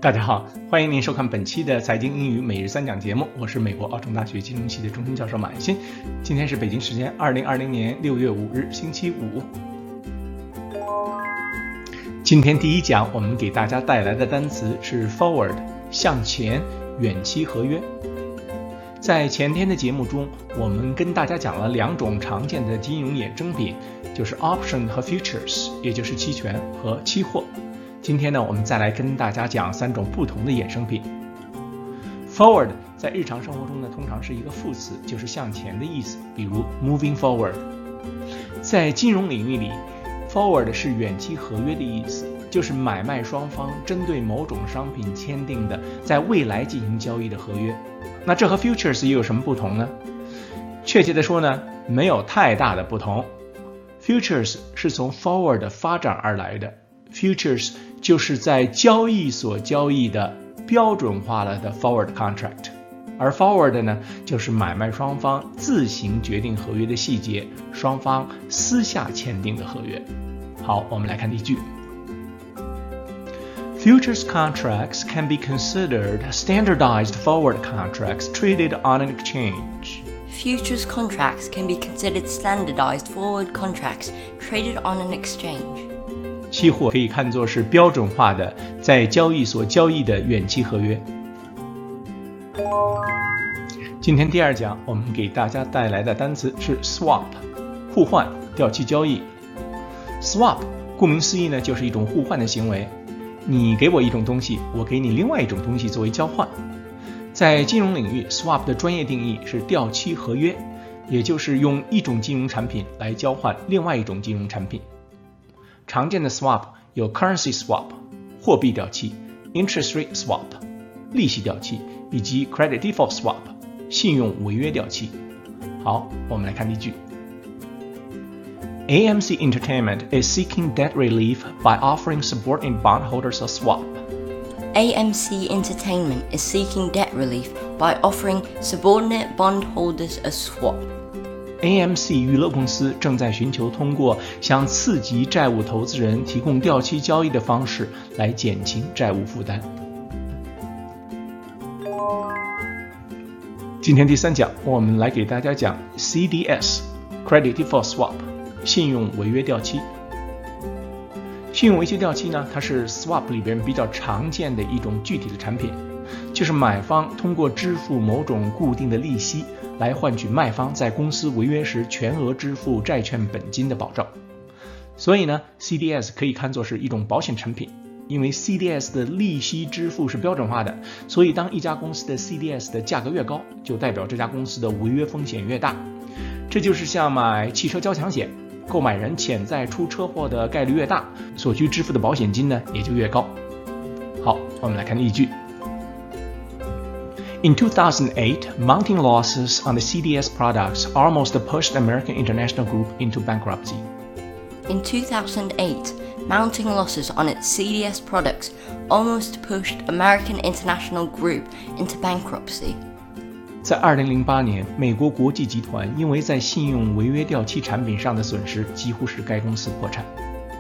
大家好，欢迎您收看本期的财经英语每日三讲节目，我是美国奥城大学金融系的终身教授马欣。今天是北京时间2020年6月5日星期五。今天第一讲我们给大家带来的单词是 forward 向前远期合约。在前天的节目中，我们跟大家讲了两种常见的金融衍生品，就是 option 和 futures， 也就是期权和期货。今天呢，我们再来跟大家讲三种不同的衍生品。Forward 在日常生活中呢，通常是一个副词，就是向前的意思，比如 moving forward。在金融领域里 ，forward 是远期合约的意思，就是买卖双方针对某种商品签订的在未来进行交易的合约。那这和 futures 又有什么不同呢？确切的说呢，没有太大的不同。Futures 是从 forward 发展而来的。Futures 就是在交易所交易的标准化了的 forward contract， 而 forward 呢，就是买卖双方自行决定合约的细节，双方私下签订的合约。好，我们来看例句。Futures contracts can be considered standardized forward contracts traded on an exchange. Futures contracts can be considered standardized forward contracts traded on an exchange. 期货可以看作是标准化的在交易所交易的远期合约。今天第二讲我们给大家带来的单词是 swap， 互换、掉期交易。Swap 顾名思义呢，就是一种互换的行为，你给我一种东西，我给你另外一种东西作为交换。在金融领域 swap 的专业定义是掉期合约，也就是用一种金融产品来交换另外一种金融产品。常见的 swap 有 currency swap 货币掉期， interest rate swap 利息掉期，以及 credit default swap 信用违约掉期。好，我们来看例句。AMC Entertainment is seeking debt relief by offering subordinate bondholders a swap. AMC Entertainment is seeking debt relief by offering subordinate bondholders a swap.AMC 娱乐公司正在寻求通过向次级债务投资人提供掉期交易的方式来减轻债务负担。今天第三讲，我们来给大家讲 CDS Credit Default Swap 信用违约掉期。信用违约掉期呢，它是 swap 里边比较常见的一种具体的产品，就是买方通过支付某种固定的利息来换取卖方在公司违约时全额支付债券本金的保证。所以呢 CDS 可以看作是一种保险产品，因为 CDS 的利息支付是标准化的，所以当一家公司的 CDS 的价格越高，就代表这家公司的违约风险越大。这就是像买汽车交强险，购买人潜在出车祸的概率越大，所需支付的保险金呢也就越高。好，我们来看例句。In 2008, mounting losses on the CDS products almost pushed American International Group into bankruptcy. In 2008, mounting losses on its CDS products almost pushed American International Group into bankruptcy. 在2008年，美国国际集团因为在信用违约掉期产品上的损失，几乎使该公司破产。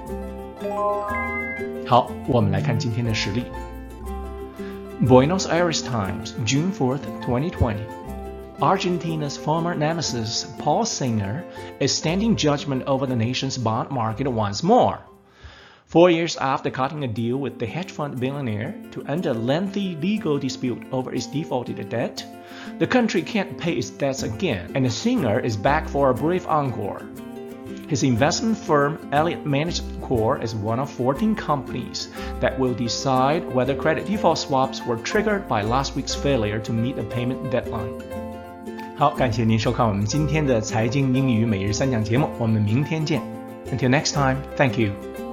好，我们来看今天的实例。Buenos Aires Times, June 4th, 2020. Argentina's former nemesis, Paul Singer, is standing judgment over the nation's bond market once more. 4 years after cutting a deal with the hedge fund billionaire to end a lengthy legal dispute over its defaulted debt, the country can't pay its debts again, and the Singer is back for a brave encore. His investment firm, Elliott Management Corp, is one of 14 companies that will decide whether credit default swaps were triggered by last week's failure to meet a payment deadline. 好，感谢您收看我们今天的财经英语每日三讲节目，我们明天见。Until next time, thank you.